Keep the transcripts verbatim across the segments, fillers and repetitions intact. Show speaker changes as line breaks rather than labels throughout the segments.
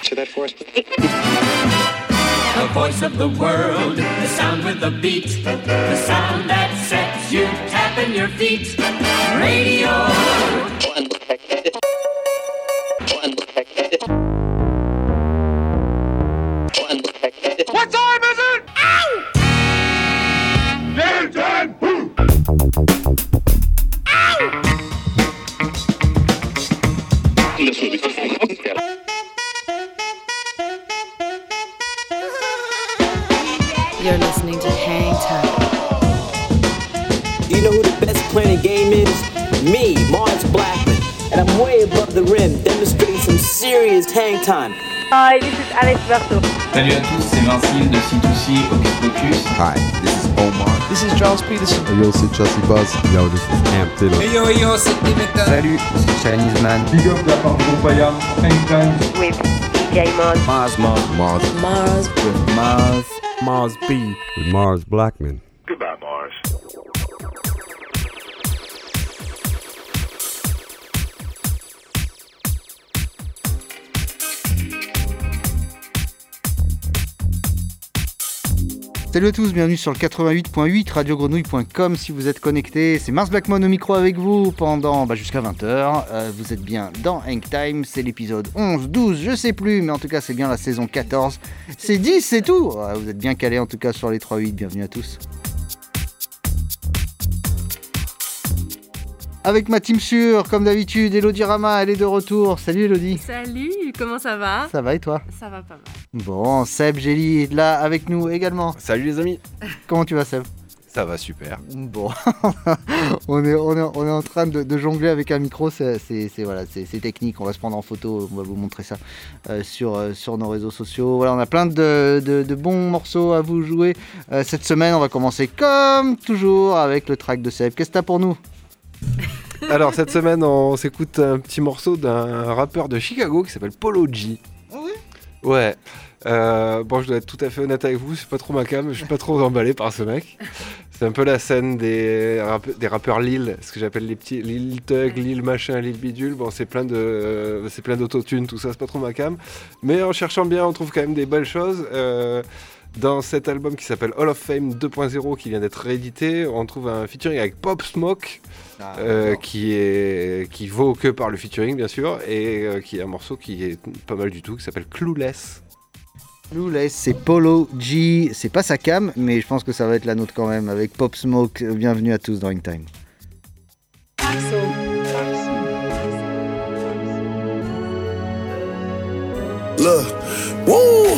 answer that for us?
The voice of the world, the sound with the beat, the sound that sets you tapping your feet. Radio.
What time is it? Ow! Game time! Ow!
You're listening to Hang Time.
You know who the best playing the game is? Me, Mars Blackman. And I'm way above the rim, demonstrating some serious hang time.
Hi, this is Alex Berto.
Salut à tous, c'est Vincile de C two C Hocus Pocus.
Hi, this is Omar.
This is Charles Peterson.
Hey yo, c'est Chelsea Buzz. Yo, this is Cam Taylor.
Hey yo, yo, c'est Dimitra.
Salut, c'est Chinese Man.
Big up la part de Compaya, Hang
With D J Mars.
Mars, Mars, Mars.
Mars.
With Mars.
Mars B. With Mars Blackman.
Goodbye, Mars.
Salut à tous, bienvenue sur le quatre-vingt-huit point huit radio grenouille point com si vous êtes connectés. C'est Mars Blackman au micro avec vous pendant bah, jusqu'à vingt heures. Euh, vous êtes bien dans Hang Time, c'est l'épisode onze, douze, je sais plus, mais en tout cas c'est bien la saison quatorze. C'est dix, c'est tout. Ouais, vous êtes bien calés en tout cas sur les trois huit, bienvenue à tous. Avec ma team sûre, comme d'habitude, Elodie Rama, elle est de retour. Salut Elodie.
Salut, comment ça va ?
Ça va et toi ?
Ça va pas mal.
Bon, Seb Gély est là avec nous également.
Salut les amis.
Comment tu vas Seb ?
Ça va super.
Bon, on, est, on, est, on est en train de, de jongler avec un micro, c'est, c'est, c'est, voilà, c'est, c'est technique, on va se prendre en photo, on va vous montrer ça euh, sur, euh, sur nos réseaux sociaux. Voilà, on a plein de, de, de bons morceaux à vous jouer. Euh, cette semaine, on va commencer comme toujours avec le track de Seb. Qu'est-ce que t'as pour nous ?
Alors cette semaine on s'écoute un petit morceau d'un rappeur de Chicago qui s'appelle Polo G.
Ah oui ?
Ouais. Euh, bon je dois être tout à fait honnête avec vous, c'est pas trop ma cam, je suis pas trop emballé par ce mec. C'est un peu la scène des, rappe- des rappeurs Lil, ce que j'appelle les petits Lil Tug, Lil machin, Lil bidule. Bon c'est plein de, euh, c'est plein d'autotune, tout ça, c'est pas trop ma cam. Mais en cherchant bien on trouve quand même des belles choses. Euh, Dans cet album qui s'appelle Hall of Fame deux point zéro qui vient d'être réédité, on trouve un featuring avec Pop Smoke ah, euh, qui, est, qui vaut que par le featuring bien sûr et euh, qui est un morceau qui est pas mal du tout qui s'appelle Clueless.
Clueless, c'est Polo G, c'est pas sa cam mais je pense que ça va être la nôtre quand même avec Pop Smoke. Bienvenue à tous dans Hang Time.
Look, woo!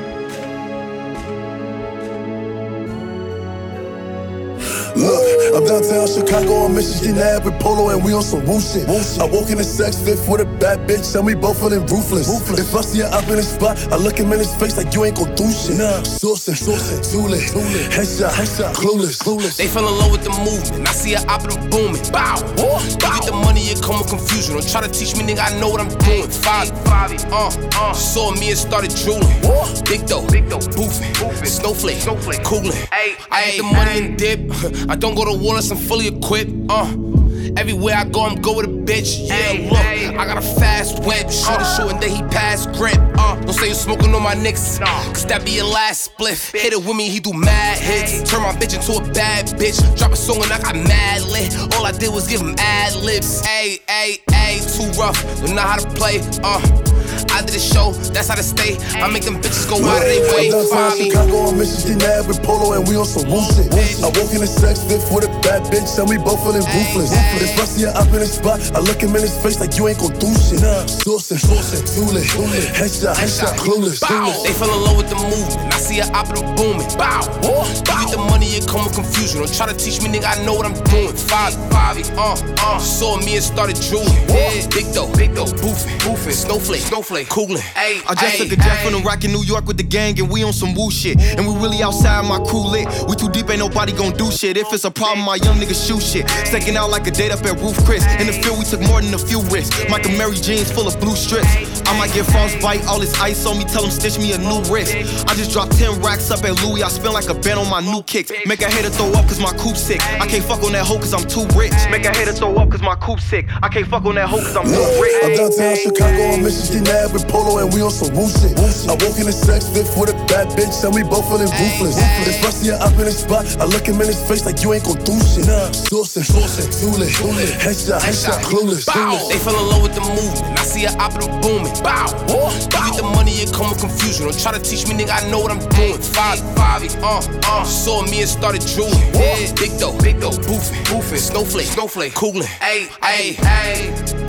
Look, I'm downtown Chicago on Michigan Ave with Polo and we on some woo shit. I woke in the sex fifth with a bad bitch and we both feeling ruthless. ruthless. If I see her up in the spot, I look him in his face like you ain't gon' do shit. Nah, sourcing, sourcing, too lit, headshot, headshot, clueless, clueless.
They fell in love with the movement. I see her up and I'm booming. Bow, bow. You get the money, it come with confusion. Don't try to teach me, nigga. I know what I'm doing. Five, five, uh, uh. Saw me and started drooling. Big dough, big dough, boofing, snowflake, snowflake, cooling. Ay, I get the money and dip. I don't go to war unless I'm fully equipped. Uh, everywhere I go, I'm go with a bitch. Yeah, ay, look, ay. I got a fast whip. Shoot a shoot and then he pass grip. Uh, don't say you smoking on my niggas, cause that be your last spliff. Hit it with me, he do mad hits. Turn my bitch into a bad bitch. Drop a song and I got mad lit. All I did was give him ad libs. Ay, ay, ay, too rough. Don't know how to play. Uh. I did a show, that's how to stay. I make them bitches go out of their way.
I'm downtown Chicago on Michigan Ave with Polo and we on some woo shit. I woke in the sex fifth with a bad bitch and we both feeling ruthless. If I see her up in the spot, I look him in his face like you ain't gon' do shit. Nah, sourcing, sourcing, too lit, headshot, headshot, clueless.
They fell in love with the movement. I see her up and I'm booming. Bow, you get the money, it come with confusion. Don't try to teach me, nigga. I know what I'm doing. Five, five, uh, uh. Saw me and started drooling. Big dough, big dough, boofing, boofing, snowflake, snowflake. Coolin'. Ay,
I just
ay,
took a jet
ay.
from the rock in New York with the gang and we on some woo shit. And we really outside, my crew lit. We too deep, ain't nobody gon' do shit. If it's a problem, my young niggas shoot shit. Staking out like a date up at Roof Chris. In the field, we took more than a few risks. Michael Mary jeans full of blue strips. I might get frostbite, all this ice on me, tell them stitch me a new wrist. I just dropped ten racks up at Louis, I spend like a band on my new kicks. Make a hater throw up cause my coupe sick. I can't fuck on that hoe cause I'm too rich. Make a hater throw up cause my coupe sick. I can't fuck on that hoe cause I'm too rich.
I'm downtown Chicago on Michigan Ave with Polo and we on some woo shit. I walk in the sex fit with a bad bitch and we both feeling ruthless. It's rusty and up in the spot, I look him in his face like you ain't gon' do shit. Sourcing, sourcing, too lit, headshot, headshot, clueless.
They fell in love with the movement, I see an opera booming. Bow, give me the money, it come with confusion. Don't try to teach me, nigga, I know what I'm doing. Five, five, uh, uh, saw me and started drooling. Yeah, big dough, big dough, boofing, boofing, snowflake, snowflake, cooling. Ayy, ayy, ayy.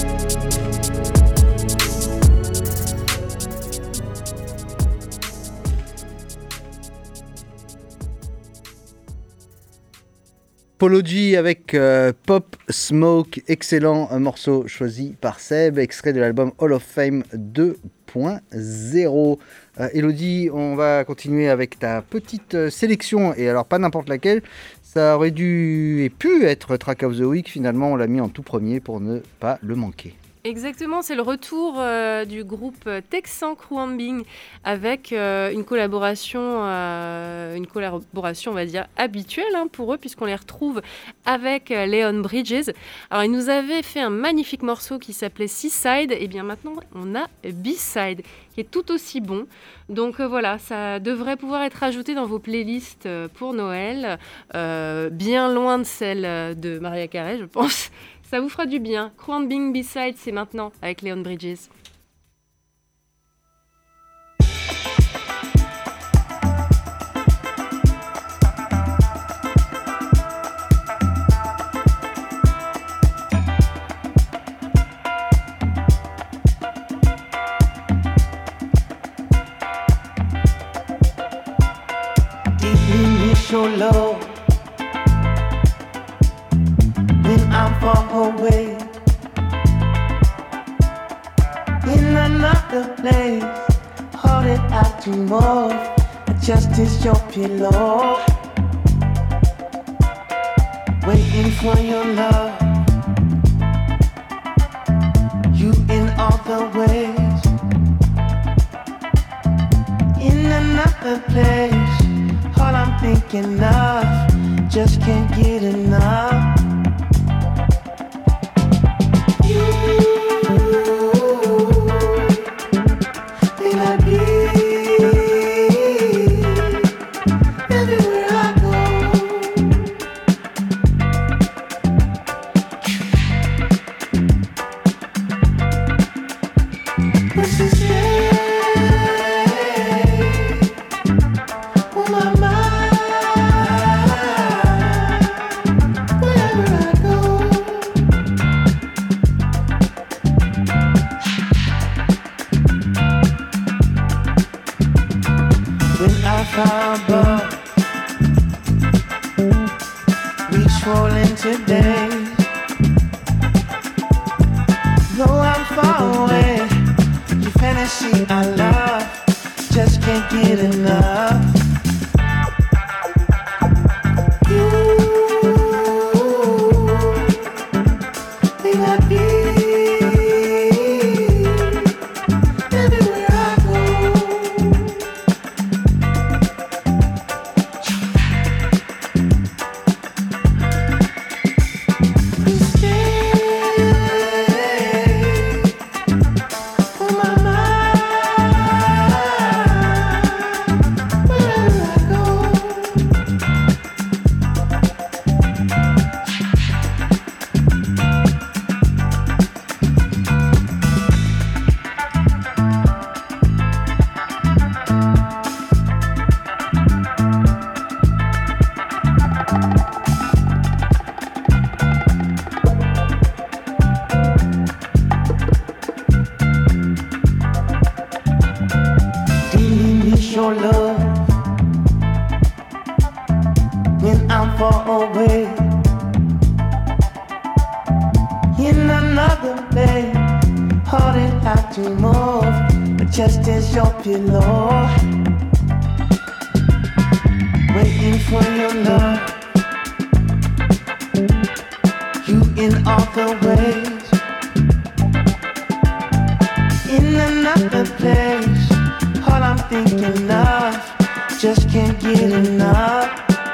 Polo G avec euh, Pop Smoke, excellent morceau choisi par Seb, extrait de l'album Hall of Fame deux point zéro. Euh, Elodie, on va continuer avec ta petite sélection, et alors pas n'importe laquelle, ça aurait dû et pu être Track of the Week, finalement on l'a mis en tout premier pour ne pas le manquer.
Exactement, c'est le retour euh, du groupe texan Khruangbin avec euh, une collaboration, euh, une collaboration, on va dire, habituelle hein, pour eux, puisqu'on les retrouve avec euh, Leon Bridges. Alors, ils nous avaient fait un magnifique morceau qui s'appelait Seaside, et bien maintenant, on a B-Side, qui est tout aussi bon. Donc euh, voilà, ça devrait pouvoir être ajouté dans vos playlists euh, pour Noël, euh, bien loin de celle de Mariah Carey, je pense. Ça vous fera du bien. Khruangbin B-Side, c'est maintenant avec Leon Bridges.
So low when I'm far away in another place, hold it out to more, just as your pillow, waiting for your love, you in all the ways, in another place. All I'm thinking of, just can't get enough. You, may I be everywhere I go. But she stay on my mind. Above, reach for today. Though I'm far away, your fantasy I love, just can't get enough. You, may I be everywhere I go. Your love when I'm far away in another place, hold it out to move, but just as your pillow, waiting for your love, you in all the ways, in happy place. All I'm thinking of, just can't get enough.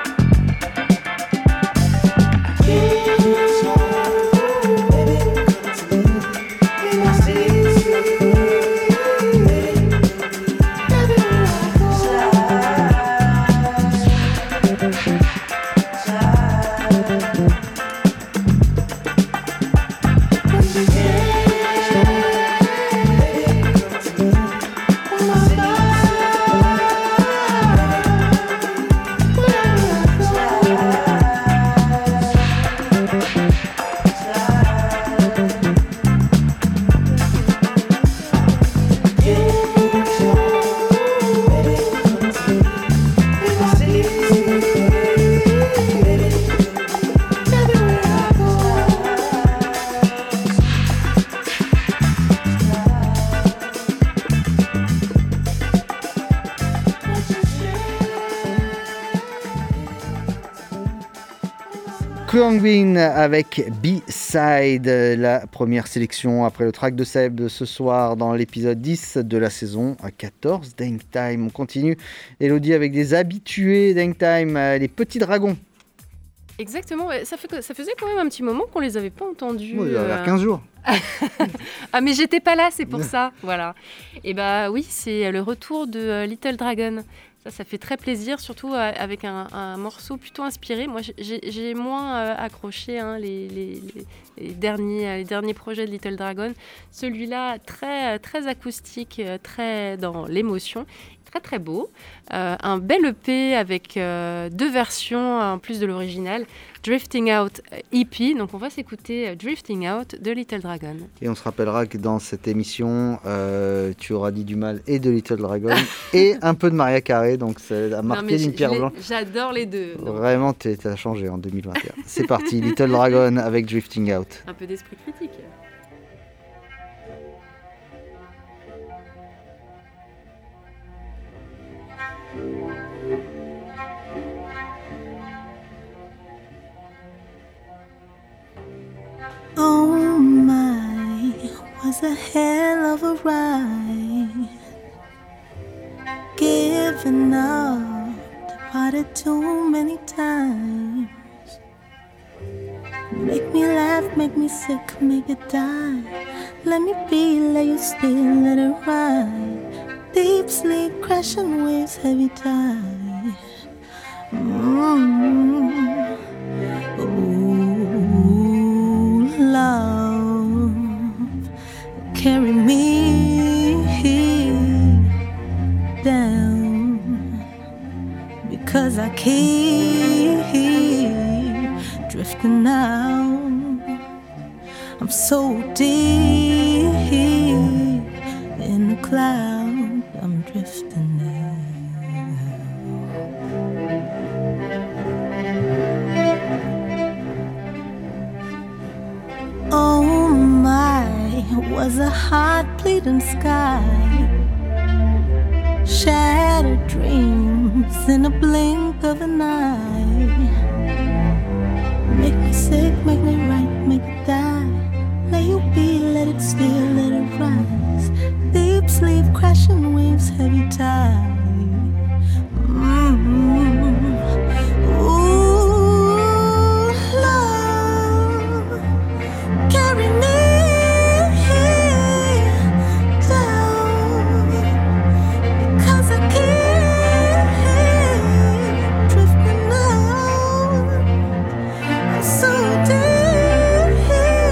Khruangbin avec B-Side, la première sélection après le track de Seb de ce soir dans l'épisode dix de la saison quatorze d'Hangtime. On continue, Elodie, avec des habitués d'Hangtime, les Petits Dragons.
Exactement, ça, fait, ça faisait quand même un petit moment qu'on les avait pas entendus.
Oh, il y a euh... quinze jours.
Ah mais j'étais pas là, c'est pour ça, voilà. Et bah oui, c'est le retour de Little Dragon. Ça, ça fait très plaisir, surtout avec un, un morceau plutôt inspiré. Moi, j'ai, j'ai moins euh, accroché hein, les, les, les, derniers, les derniers projets de Little Dragon. Celui-là, très, très acoustique, très dans l'émotion, très très beau. Euh, un bel E P avec euh, deux versions en plus de l'original. Drifting Out E P, donc on va s'écouter Drifting Out de Little Dragon.
Et on se rappellera que dans cette émission, euh, tu auras dit du mal et de Little Dragon et un peu de Mariah Carey, donc ça a marqué d'une pierre blanche.
J'adore les deux. Donc.
Vraiment, tu as changé en deux mille vingt et un. C'est parti, Little Dragon avec Drifting Out.
Un peu d'esprit critique.
Oh my, was a hell of a ride. Giving up, departed too many times. Make me laugh, make me sick, make it die. Let me be, let you still, let it ride. Deep sleep, crashing waves, heavy tide. Mm-hmm. Love, carry me down, because I keep drifting out. I'm so deep in the cloud, I'm drifting now. Oh my, was a heart bleeding sky. Shattered dreams in a blink of an eye. Make me sick, make me right, make it die. Let you be, let it steal, let it rise. Deep sleep, crashing waves, heavy tide. Mm-hmm. Ooh, love, carry me down, because I keep drifting out. I'm so deep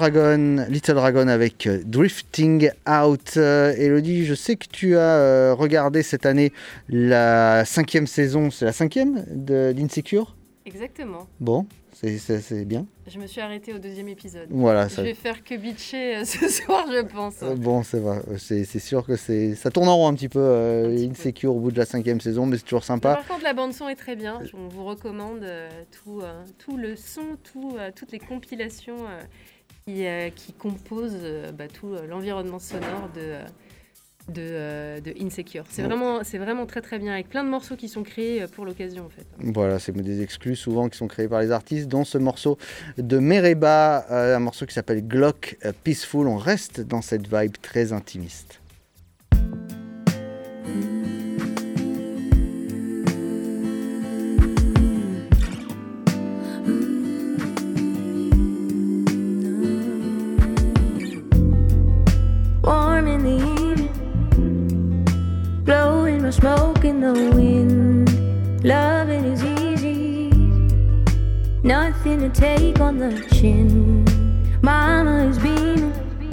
Dragon, Little Dragon avec euh, Drifting Out. Euh, Elodie, je sais que tu as euh, regardé cette année la cinquième saison, c'est la cinquième de, d'Insecure ?
Exactement.
Bon, c'est, c'est, c'est bien.
Je me suis arrêtée au deuxième épisode.
Voilà,
je
ça...
vais faire que bitcher euh, ce soir, je pense.
Euh, bon, c'est vrai. C'est, c'est sûr que c'est... ça tourne en rond un petit peu, euh, un petit Insecure peu. Au bout de la cinquième saison, mais c'est toujours sympa.
Mais par contre, la bande-son est très bien. On vous recommande euh, tout, euh, tout le son, tout, euh, toutes les compilations euh, qui, euh, qui composent euh, bah, tout euh, l'environnement sonore de... Euh, De, euh, de Insecure. C'est, ouais. vraiment, c'est vraiment très très bien, avec plein de morceaux qui sont créés pour l'occasion en fait.
Voilà, c'est des exclus souvent qui sont créés par les artistes, dont ce morceau de Mereba, euh, un morceau qui s'appelle Glock uh, Peaceful. On reste dans cette vibe très intimiste.
Warm in the evening, blowing my smoke in the wind. Loving is easy, nothing to take on the chin. Mama is beaming,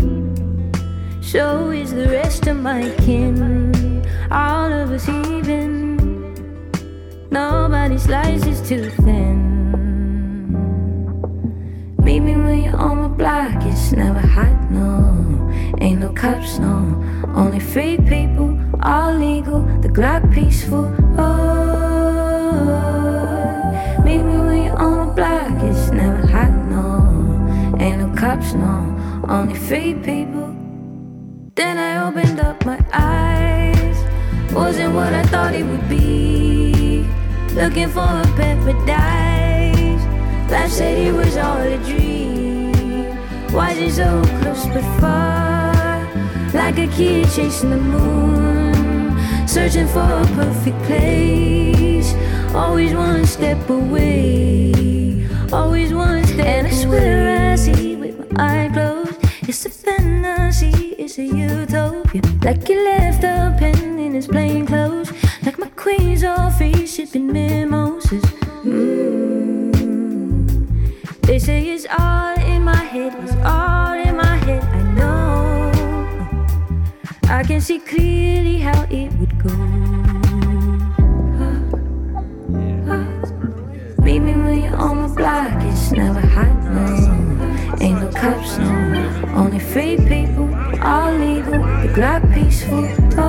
so is the rest of my kin. All of us even, nobody's slice is too thin. Meet me when you're on my block, it's never hot, no. Ain't no cops, no. Only free people, all legal, the Glock peaceful. Oh, meet me when you're on my block, it's never hot, no. Ain't no cops, no. Only free people. Then I opened up my eyes, wasn't what I thought it would be. Looking for a paradise, life said it was all a dream. Why is it so close but far? Like a kid chasing the moon, searching for a perfect place. Always one step away, always one step away. And I swear I see with my eyes closed, it's a fantasy, it's a utopia. Like you left a pen in his plain clothes, like my queen's all free shipping mimosas. Mm. They say it's all in my head, it's all in my head, I know. I can see clearly how it would go. Meet me when you're on my block, it's never hot, no. Ain't no cops, no. Only free people, all legal, the Glock peaceful.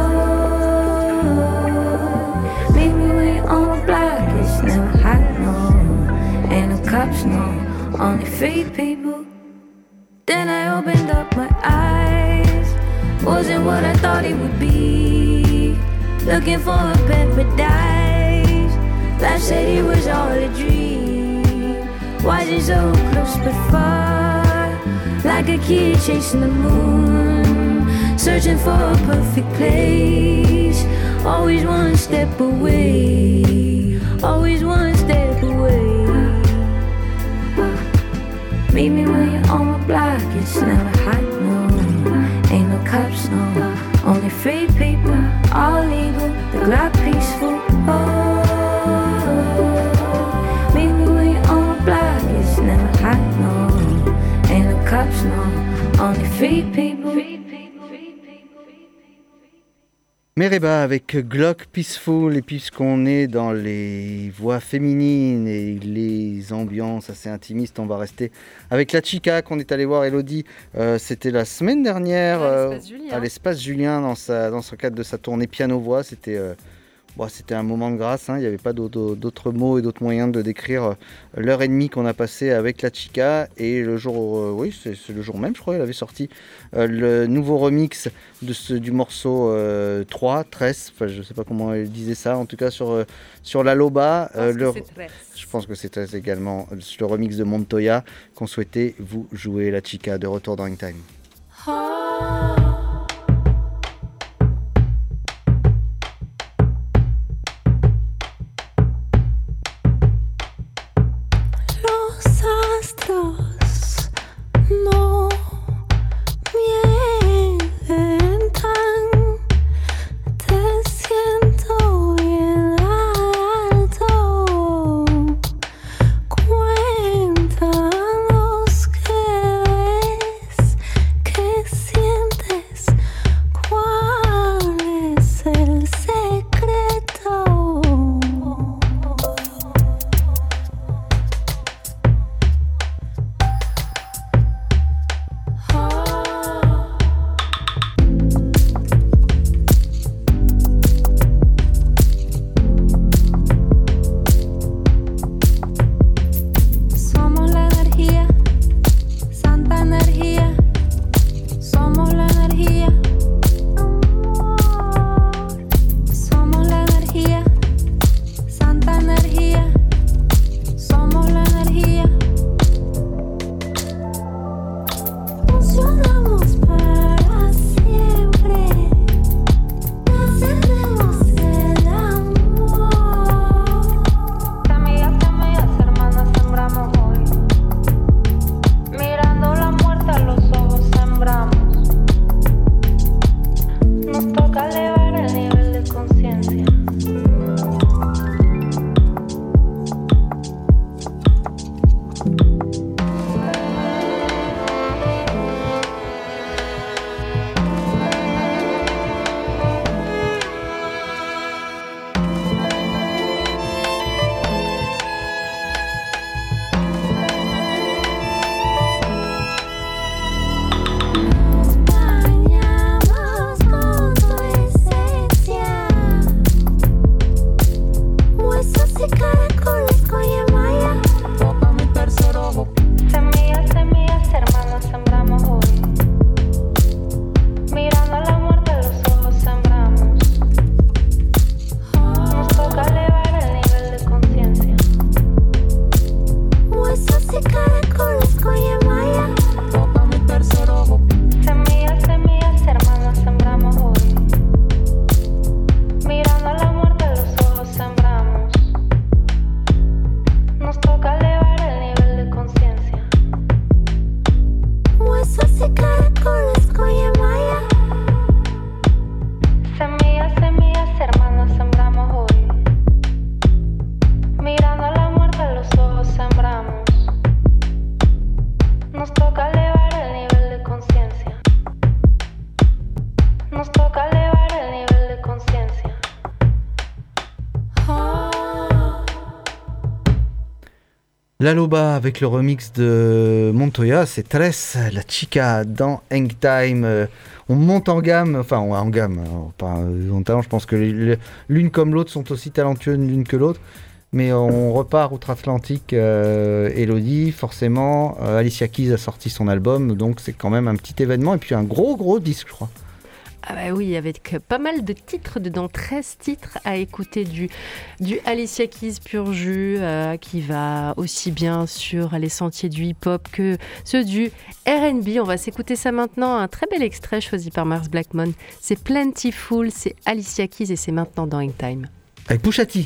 Oh, meet me when you're on my block, it's never hot, no. Ain't no cops, no. Only free people. Then I opened up my eyes, wasn't what I thought it would be. Looking for a paradise, life said it was all a dream. Why is it so close but far? Like a kid chasing the moon, searching for a perfect place. Always one step away, always one step away. Meet me when you're on my block, it's never hot, no. Ain't no cops, no. Only free people, all legal, the Glock peaceful. Oh, meet me when you're on my block, it's never hot, no. Ain't no cops, no. Only free people.
Mereba avec Glock Peaceful, et puisqu'on est dans les voix féminines et les ambiances assez intimistes, on va rester avec la chica qu'on est allé voir, Elodie. Euh, c'était la semaine dernière
à l'espace Julien,
euh, à l'espace Julien dans, sa, dans son cadre de sa tournée piano-voix. C'était, euh, bon, c'était un moment de grâce, hein. Il n'y avait pas d'autres, d'autres mots et d'autres moyens de décrire l'heure et demie qu'on a passé avec la chica. Et le jour, euh, oui, c'est, c'est le jour même, je crois, elle avait sorti euh, le nouveau remix de ce, du morceau euh, trois, treize, enfin, je ne sais pas comment elle disait ça, en tout cas sur, euh, sur la Loba.
Euh,
le,
c'est
je pense que c'est treize également, le remix de Montoya qu'on souhaitait vous jouer, la chica, de retour dans Hangtime.
Oh. No mientan, te siento bien alto. Cuéntanos qué
nos toca elevar el nivel de conciencia.
La Loba avec le remix de Montoya, c'est Tres, la chica dans Hang Time. Euh, on monte en gamme, enfin on en gamme, alors, pas en talent, je pense que les, les, l'une comme l'autre sont aussi talentueuses l'une que l'autre. Mais on repart outre-Atlantique, euh, Elodie, forcément. Euh, Alicia Keys a sorti son album, donc c'est quand même un petit événement. Et puis un gros gros disque, je crois.
Ah bah oui, avec pas mal de titres dedans, treize titres à écouter du, du Alicia Keys pur jus, euh, qui va aussi bien sur les sentiers du hip-hop que ceux du R and B. On va s'écouter ça maintenant, un très bel extrait choisi par Mars Blackmon. C'est Plentiful, c'est Alicia Keys et c'est maintenant dans Hang Time.
Avec Pusha T.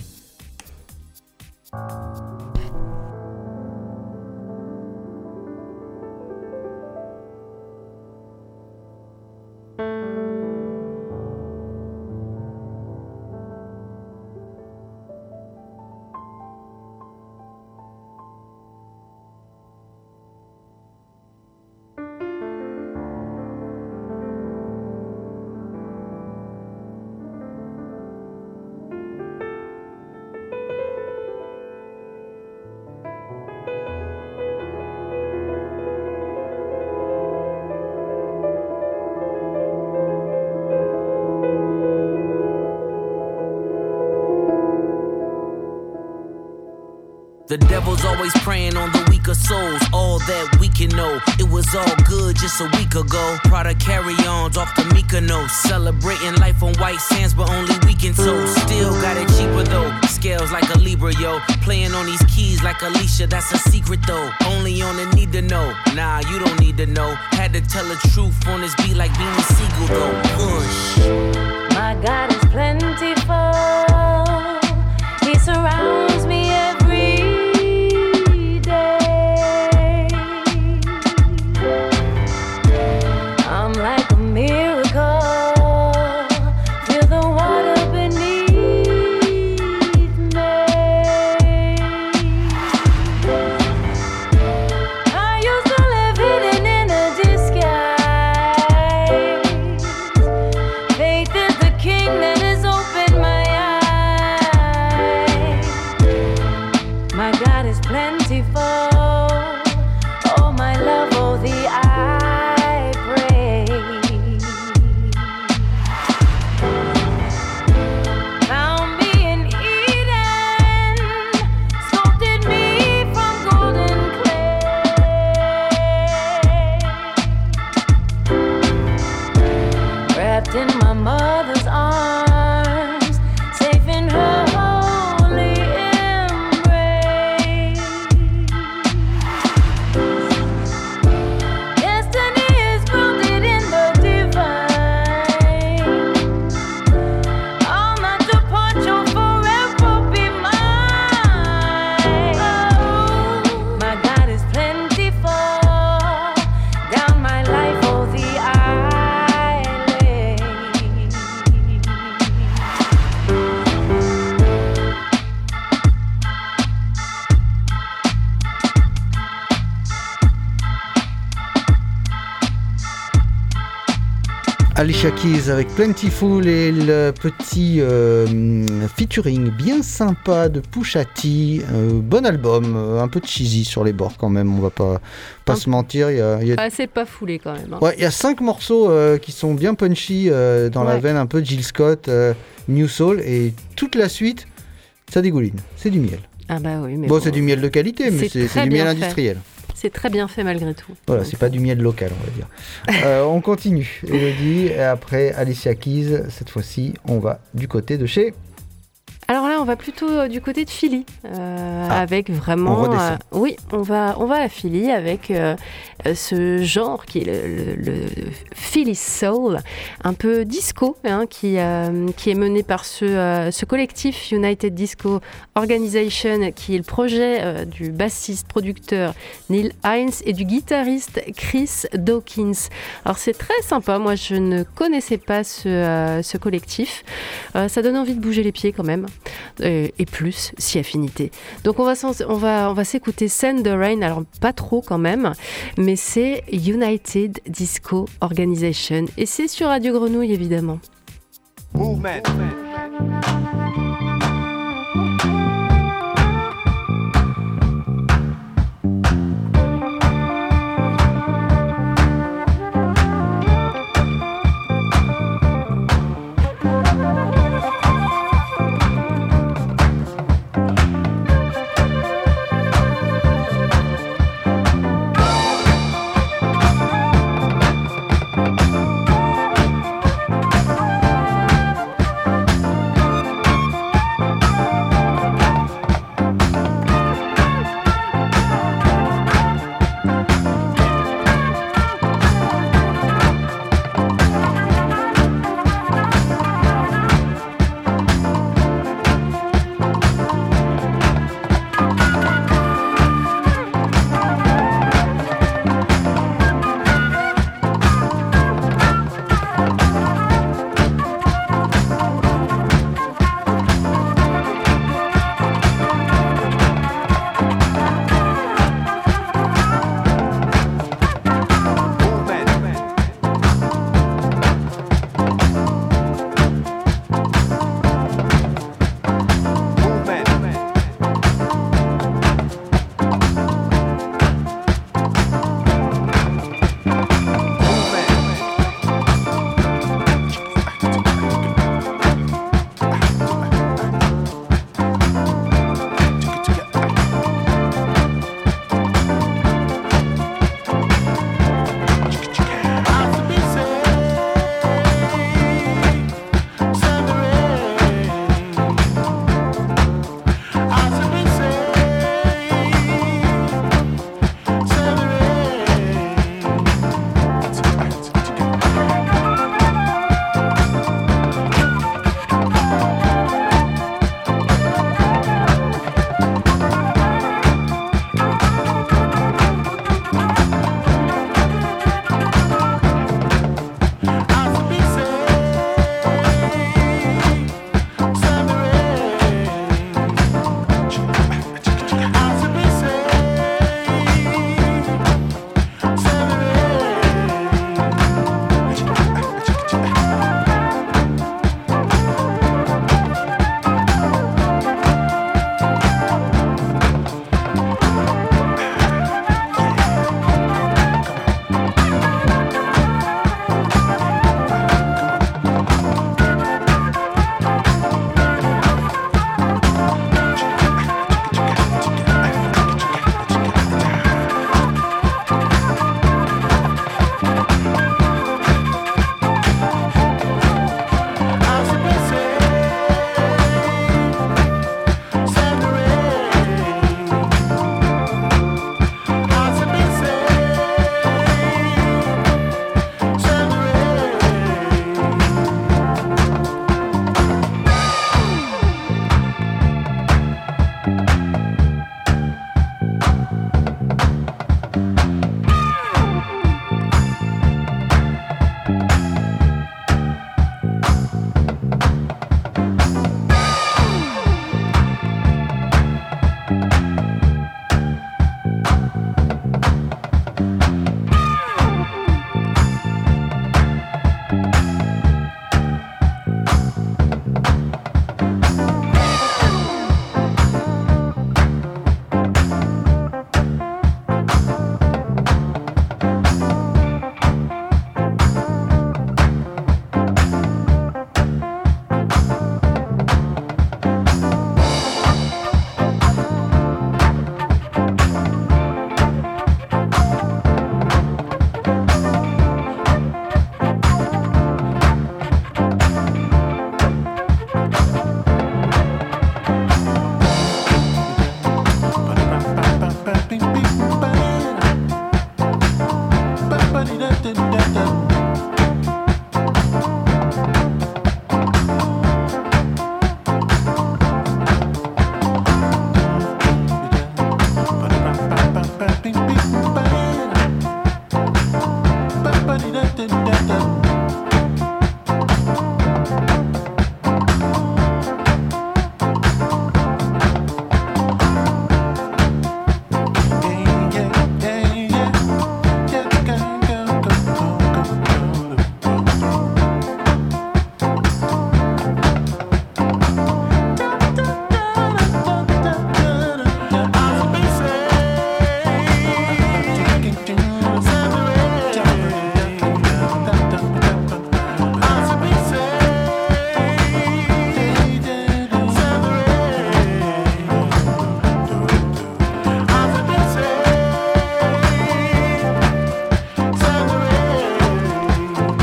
The devil's always preying on the weaker souls. All that we can know, it was all good just a week ago. Prada carry-ons off the Mykonos, celebrating life on white sands, but only weekend toast. Still got it cheaper though, scales like a Libra, yo. Playing on these keys like Alicia, that's a secret though. Only on the need to know, nah, you don't need to know. Had to tell the truth on this beat like Beanie Siegel though. Push.
My God is plentiful, He surrounds me every
Alicia Keys avec Plentiful et le petit euh, featuring bien sympa de Pusha T. Euh, bon album, euh, un peu cheesy sur les bords quand même, on va pas, pas un se mentir. Il y a, il y a...
Ah, c'est pas foulé quand même. Hein.
Ouais, il y a cinq morceaux euh, qui sont bien punchy euh, dans ouais. la veine un peu Jill Scott, euh, New Soul, et toute la suite, ça dégouline, c'est du miel.
Ah bah oui, mais
bon,
bon,
c'est du miel de qualité, mais c'est, c'est du miel industriel.
C'est très bien fait malgré tout.
Voilà, donc, c'est pas du miel local, on va dire. euh, on continue, Elodie, et après Alicia Keys, cette fois-ci, on va du côté de chez...
Alors là, on va plutôt du côté de Philly, euh,
ah,
avec vraiment...
On redescend.
Euh, oui, on va, on va à Philly avec euh, ce genre qui est le, le, le Philly Soul, un peu disco, hein, qui, euh, qui est mené par ce, euh, ce collectif United Disco Organization, qui est le projet euh, du bassiste-producteur Neil Hines et du guitariste Chris Dawkins. Alors c'est très sympa, moi je ne connaissais pas ce, euh, ce collectif. Euh, ça donne envie de bouger les pieds quand même. et, et plus si affinité. Donc on va, on va, on va s'écouter Send the Rain, alors pas trop quand même, mais c'est United Disco Organization et c'est sur Radio Grenouille évidemment.
Movement.
Thank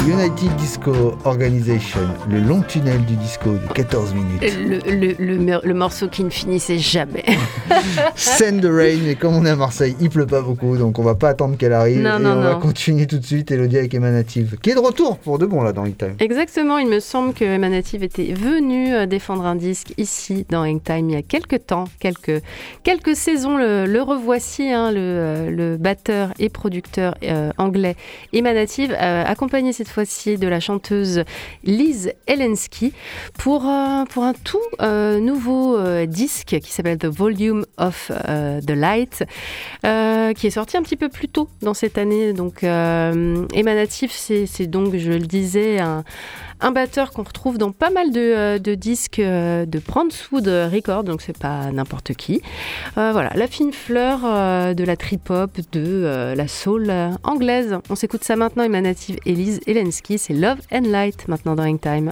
United Disco Organization, le long tunnel du disco de quatorze minutes.
Le, le, le, le morceau qui ne finissait jamais.
Send the rain, mais comme on est à Marseille, il pleut pas beaucoup, donc on va pas attendre qu'elle arrive.
Non,
et
non,
on
non.
va continuer tout de suite, Elodie avec Emanative, qui est de retour pour de bon là dans Hangtime.
Exactement, il me semble que Emanative était venu défendre un disque ici dans Hangtime il y a quelques temps, quelques, quelques saisons. Le, le revoici, hein, le, le batteur et producteur euh, anglais Emanative, euh, accompagné cette fois-ci de la chanteuse Liz Elensky pour, euh, pour un tout euh, nouveau euh, disque qui s'appelle The Volume of euh, the Light, euh, qui est sorti un petit peu plus tôt dans cette année. Donc euh, Emanative, c'est, c'est donc, je le disais, un, un batteur qu'on retrouve dans pas mal de, de disques de Brownswood Records, donc c'est pas n'importe qui. Euh, voilà, la fine fleur euh, de la trip-hop, de euh, la soul euh, anglaise. On s'écoute ça maintenant, Emanative et Liz Elensky, c'est Love and Light maintenant dans Hangtime.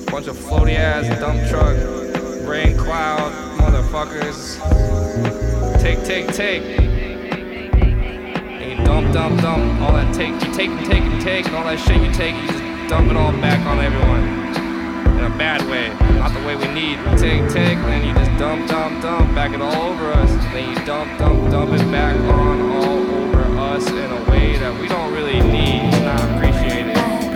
Bunch of floaty ass dump truck, rain cloud, motherfuckers.
take, take, take. And you dump, dump, dump. All that take, you take and take and take. And all that shit you take, you just dump it all back on everyone. In a bad way, not the way we need. Take, take, and then you just dump, dump, dump. Back it all over us. Then you dump, dump, dump it back on all over us in a way that we don't really need. It's not appreciated.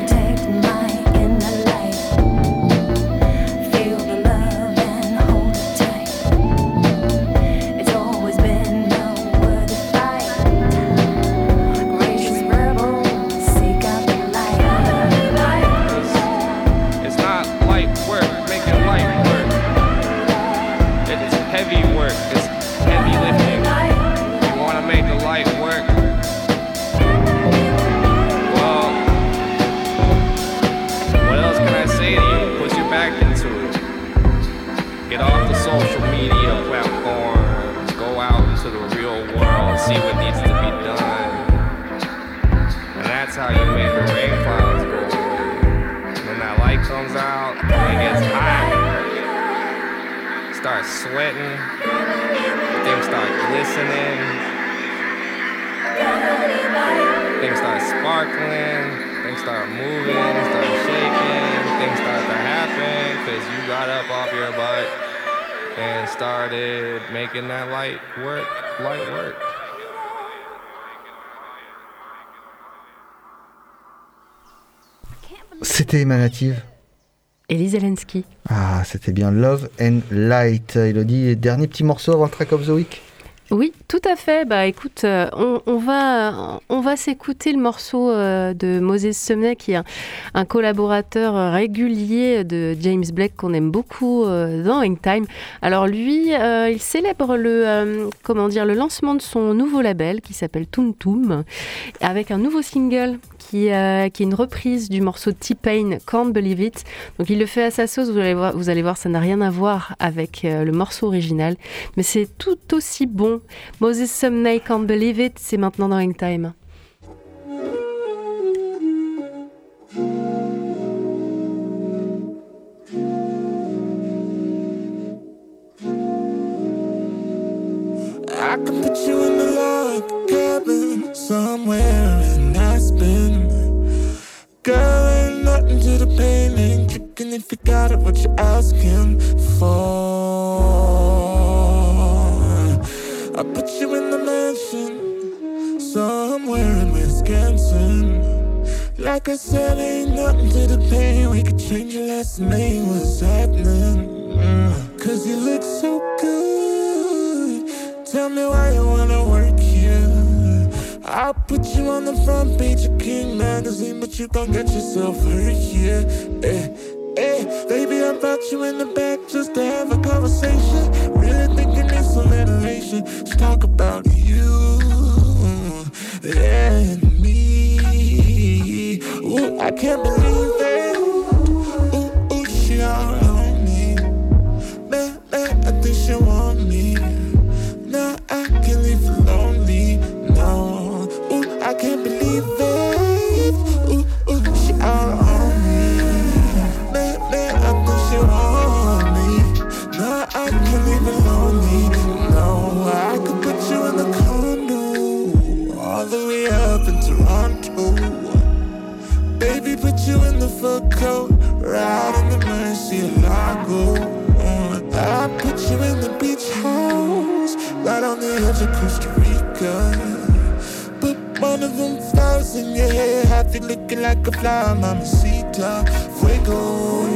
See what needs to be done. And that's how you make the rain clouds go away. When that light comes out, it gets hot. Start sweating. Things start glistening. Things start sparkling. Things start moving, start shaking. Things start to happen because you got up off your butt and started making that light work, light work.
C'était Emanative.
Ellie Zelensky.
Ah, c'était bien Love and Light. Elodie, dernier petit morceau avant le Track of the Week.
Oui, tout à fait. Bah écoute, euh, on, on va, on va s'écouter le morceau euh, de Moses Sumney, qui est un, un collaborateur régulier de James Blake qu'on aime beaucoup euh, dans Hangtime. Alors lui, euh, il célèbre le, euh, comment dire, le lancement de son nouveau label qui s'appelle Toon Toom, avec un nouveau single qui, euh, qui est une reprise du morceau T-Pain, Can't Believe It. Donc il le fait à sa sauce, vous allez voir, vous allez voir ça n'a rien à voir avec euh, le morceau original, mais c'est tout aussi bon. Moses Sumney, Can't Believe It, c'est maintenant dans Hangtime.
I can put you in the log cabin somewhere in Aspen. Girl, ain't nothing to the pain, ain't kicking if you got it, what you asking for. I put you in the mansion somewhere in Wisconsin. Like I said, ain't nothing to the pain, we could change your last name, what's happening? Mm. Cause you look so good, tell me why you wanna work here. I'll put you on the front page of King magazine, but you gon' get yourself hurt here. Hey, hey, baby, I brought you in the back just to have a conversation. Really thinking it's alliteration. Let's talk about you and me. Ooh, I can't believe it. Ooh, ooh, she all on me. Man, man, I think she want me. Now I can't leave her lonely. No. I can't believe it. Ooh, ooh, she all on me. Man, man, I think she want me. No, I can't leave it lonely. No, I could put you in the condo all the way up in Toronto. Baby, put you in the fur coat right in the Murcielago. I put you in the beach house right on the edge of Costa Rica. One of them flowers in your hair, have you looking like a flower, mamacita, fuego.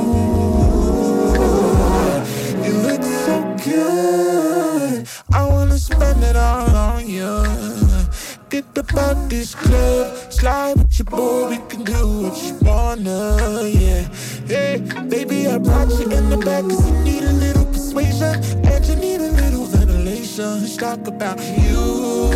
You look so good, I wanna spend it all on you. Get about this club, slide with your boy, we can do what you wanna, yeah. Hey, baby, I brought you in the back cause you need a little persuasion, and you need a little ventilation. Let's talk about you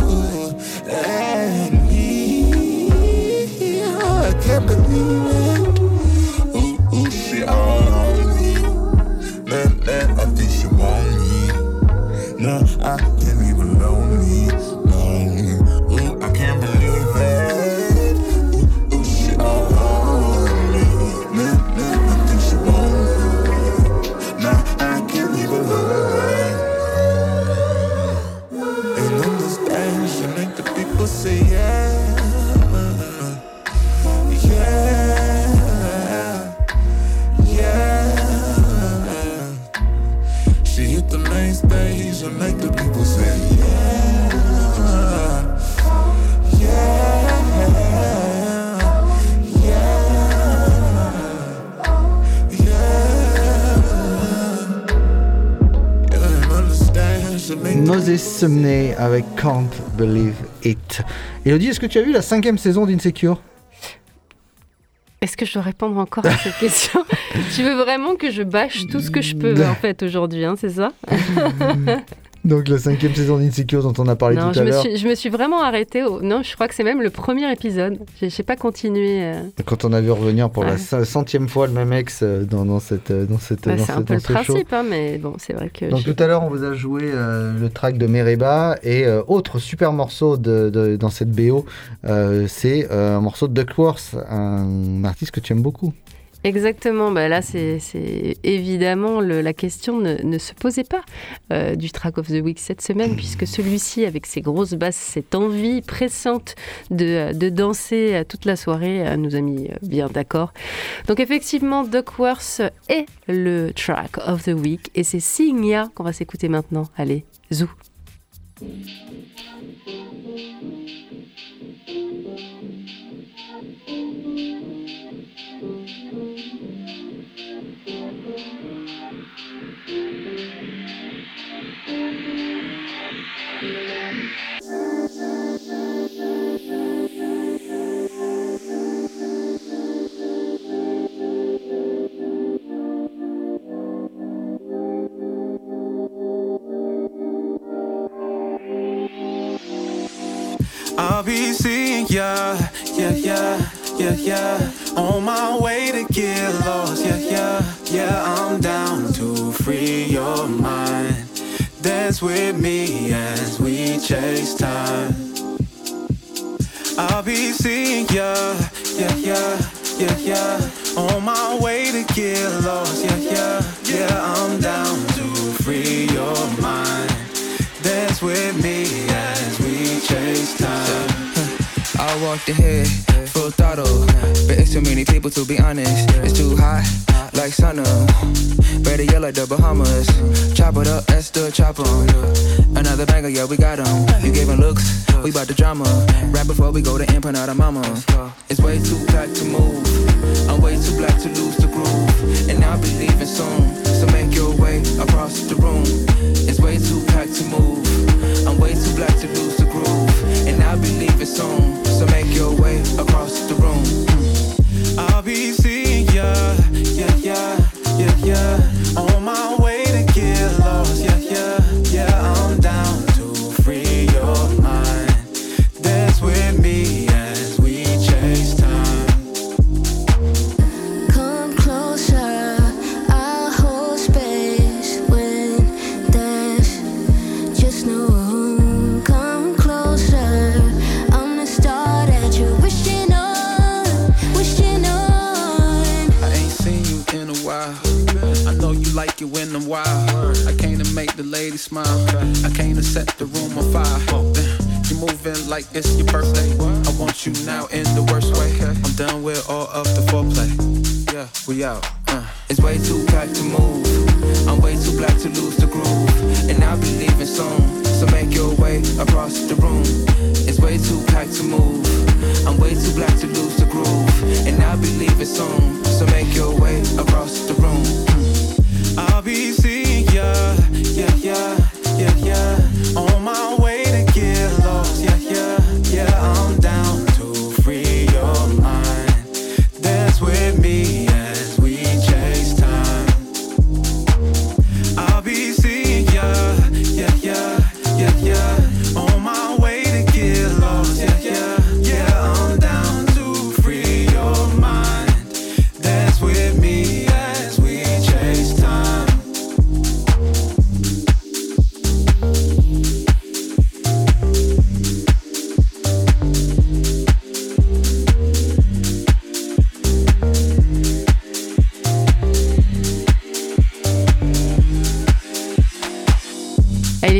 and me. I can't believe it. Ooh, ooh, she all on me. Man, man, I think she want me. No, I can't leave her lonely. No, ooh, I can't believe it. Ooh, ooh, she all on me. Man, man, I think she want me. No, I can't leave her lonely. say yeah, yeah, yeah. She hit the main stage and make the people say yeah, yeah, yeah, yeah. And I understand she make
Moses Sumney avec Can't Believe It. Elodie, est-ce que tu as vu la cinquième saison d'Insecure ?
Est-ce que je dois répondre encore à cette question ? Tu veux vraiment que je bâche tout ce que je peux en fait aujourd'hui, hein, c'est ça ?
Donc la cinquième saison d'Insecure dont on a parlé
non,
tout
je
à
me
l'heure.
Suis, je me suis vraiment arrêtée. Au... Non, je crois que c'est même le premier épisode. Je n'ai pas continué. Euh...
Quand on a vu revenir pour
ouais.
la centième fois le même ex dans, dans cette dans cette
bah,
dans
c'est
cette,
un peu
dans
le
ce
principe,
show.
Hein, mais bon, c'est vrai que.
Donc
j'ai...
tout à l'heure, on vous a joué euh, le track de Mereba et euh, autre super morceau de, de, dans cette B O, euh, c'est euh, un morceau de Duckworth, un artiste que tu aimes beaucoup.
Exactement, bah là c'est, c'est évidemment le, la question ne, ne se posait pas euh, du track of the week cette semaine, puisque celui-ci avec ses grosses basses, cette envie pressante de, de danser toute la soirée nous a mis bien d'accord. Donc effectivement Duckworth est le track of the week et c'est Seeing Ya qu'on va s'écouter maintenant. Allez, zou.
I'll be seeing ya, yeah, yeah, yeah, yeah. On my way to get lost, yeah, yeah, yeah. I'm down to free your mind. Dance with me as we chase time. I'll be seeing ya, yeah, yeah, yeah, yeah. On my way to get lost, yeah, yeah, yeah. I'm down to free your mind. Dance with me as we chase time.
I walked ahead, full throttle, but it's too many people to be honest. It's too hot, like sauna. Better yell like the Bahamas. Chop it up, that's the chop on. Another banger, yeah, we got 'em. You giving looks, we bout the drama. Right before we go to empanada mama. It's way too black to move. I'm way too black to lose the groove. And I'll be leaving soon, so make your way across the room. It's way too black to move. I'm way too black to lose the groove. And I'll be leaving soon, so make your way across the room.
I'll be seeing ya, yeah, yeah, yeah, yeah. On my way to get lost, yeah, yeah, yeah. I'm down to free your mind. Dance with me as we chase time.
Come closer, I'll hold space when there's just no room. Come closer, I'm the star that you're wishing on, wishing on.
I ain't seen you in a while. I know you like it when I'm wild. I came to make the ladies smile. I came to set the room on fire. You're moving like it's your birthday. I want you now in the worst way. I'm done with all of the foreplay. Yeah, we out. Uh. It's way too black to move. I'm way too black to lose the groove. And I'll be leaving soon, so make your way across the room. It's way too black to move. I'm way too black to lose the groove. And I'll be leaving soon, so make your way across the room.
I'll be seeing ya, yeah, yeah, yeah, yeah. On my way to get lost, yeah, yeah, yeah. I'm down to free your mind. Dance with me as we chase time. I'll be seeing ya, yeah, yeah, yeah, yeah. On my way to get lost, yeah, yeah, yeah. I'm down to free your mind.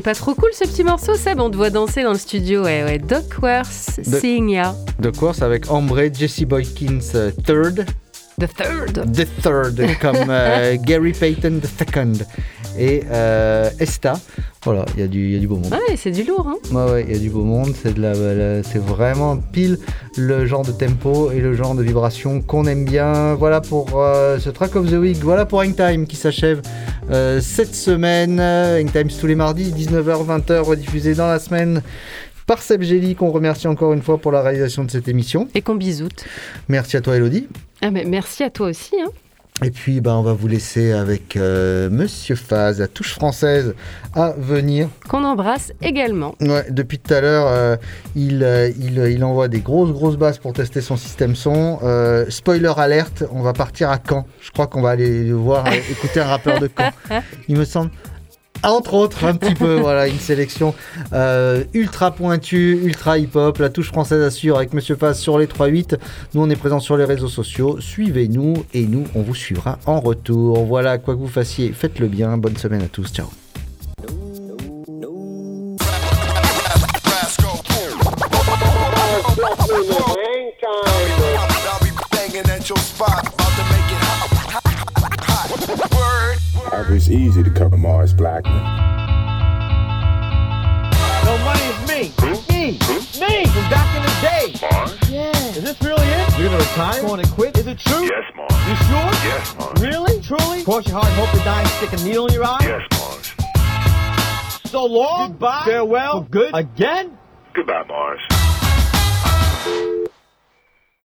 pas trop cool ce petit morceau, Seb? On te voit danser dans le studio. Ouais, ouais. Duckworth,
De-
Seeing Ya.
De course avec Ombre, Jesse Boykins euh, third.
The third.
The third, comme euh, Gary Payton the second. Et euh, Esta. Voilà, il y, a du- il y a du beau monde.
Ouais, c'est du lourd, hein.
Ouais, ouais, il y a du beau monde. C'est, de la, la- c'est vraiment pile le genre de tempo et le genre de vibration qu'on aime bien. Voilà pour euh, ce Track of the Week. Voilà pour Hangtime qui s'achève euh, cette semaine. Hangtime tous les mardis, dix-neuf heures vingt heures, rediffusé dans la semaine par Seb Gély, qu'on remercie encore une fois pour la réalisation de cette émission.
Et qu'on bisoute.
Merci à toi, Elodie.
Ah, mais merci à toi aussi, hein.
Et puis, ben, on va vous laisser avec euh, Monsieur Faz, la touche française à venir.
Qu'on embrasse également.
Ouais, depuis tout à l'heure, euh, il, euh, il, il envoie des grosses, grosses basses pour tester son système son. Euh, spoiler alerte, on va partir à Caen. Je crois qu'on va aller voir, euh, écouter un rappeur de Caen. Il me semble. Entre autres, un petit peu, voilà, une sélection euh, ultra pointue, ultra hip-hop, la touche française assure avec Monsieur Faz sur les trois huit. Nous, on est présents sur les réseaux sociaux. Suivez-nous et nous, on vous suivra en retour. Voilà, quoi que vous fassiez, faites-le bien. Bonne semaine à tous. Ciao.
It's easy to cover Mars Blackman.
No money is me. Me. Me from back in the day.
Mars?
Yeah. Is this really it? You're gonna retire? Going to quit? Is it true?
Yes, Mars.
You sure?
Yes, Mars.
Really? Truly? Cross your heart and hope to die and stick a needle in your eye?
Yes, Mars.
So long. Goodbye. Farewell. For good. Again?
Goodbye, Mars.